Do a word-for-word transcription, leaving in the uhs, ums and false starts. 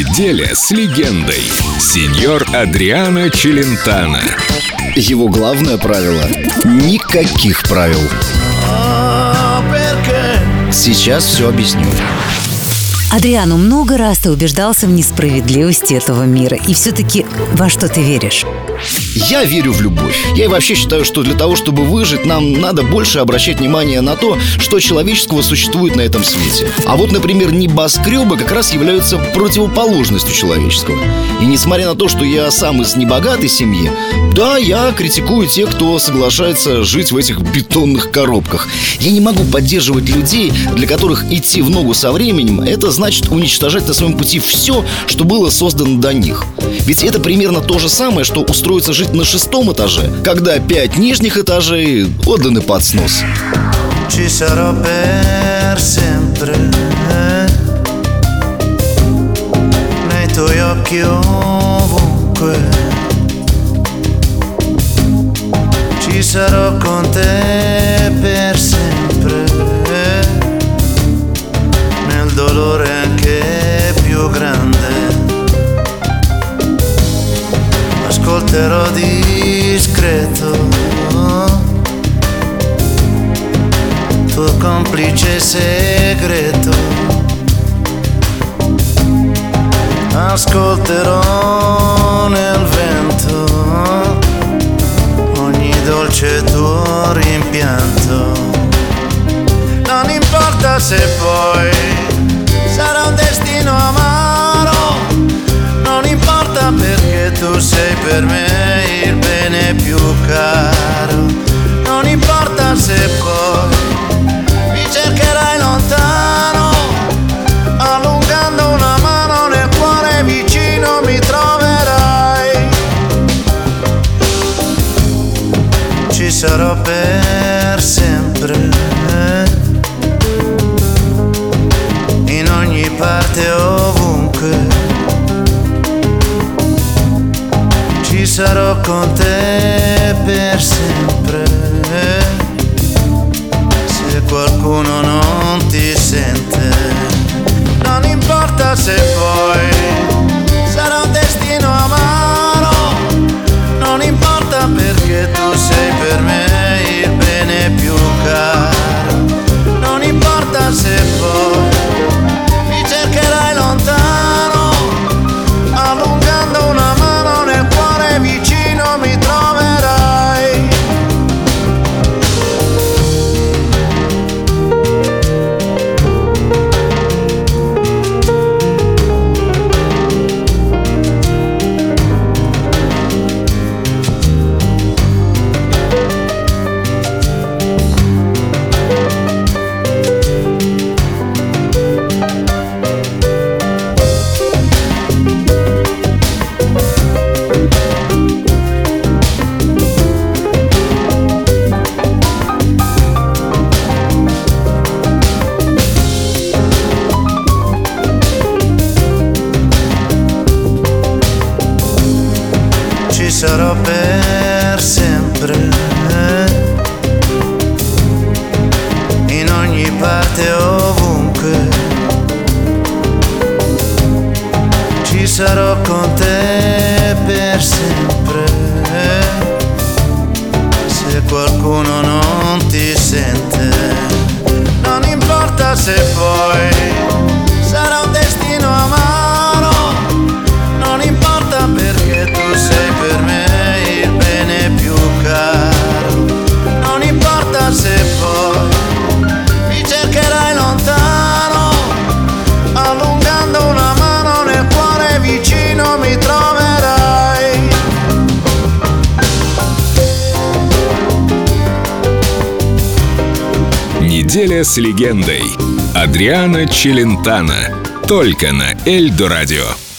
Неделя с легендой. Сеньор Адриано Челентано. Его главное правило – никаких правил. Сейчас все объясню. Адриано, много раз ты убеждался в несправедливости этого мира. И все-таки во что ты веришь? Я верю в любовь. Я и вообще считаю, что для того, чтобы выжить, нам надо больше обращать внимание на то, что человеческого существует на этом свете. А вот, например, небоскребы как раз являются противоположностью человеческого. И несмотря на то, что я сам из небогатой семьи, да, я критикую тех, кто соглашается жить в этих бетонных коробках. Я не могу поддерживать людей, для которых идти в ногу со временем – это значит уничтожать на своем пути все, что было создано до них. Ведь это примерно то же самое, что устроиться жить на шестом этаже, когда пять нижних этажей отданы под снос. Ci sarò per sempre nei tuoi occhi ovunque. Ci sarò con te per sempre nel dolore anche più grande. Ascolterò discreto tuo complice segreto. Ascolterò nel vento ogni dolce tuo rimpianto. Non importa se poi sarà un destino amaro, non importa perché tu sei per me il bene più caro. Non importa se poi mi cercherai lontano, allungando una mano nel cuore vicino mi troverai. Ci sarò per sempre, in ogni parte ovunque. Ci sarò con te per sempre. Se qualcuno non ti sente, non importa se poi sarà un destino amaro, non importa perché tu sei per me il bene più caro. Non importa se poi mi cercherai lontano, allungando una mano nel cuore vicino mi troverai. Ci sarò per sempre, in ogni parte ovunque. Ci sarò con te per sempre. Se qualcuno non ti sente, non importa se poi sarà un destino amaro, non importa perché tu sei per me il bene più caro. Non importa se poi mi cercherai lontano, allungando una mano nel cuore vicino mi troverai. Неделя с легендой. Адриано Челентано. Только на Эльдо Радио.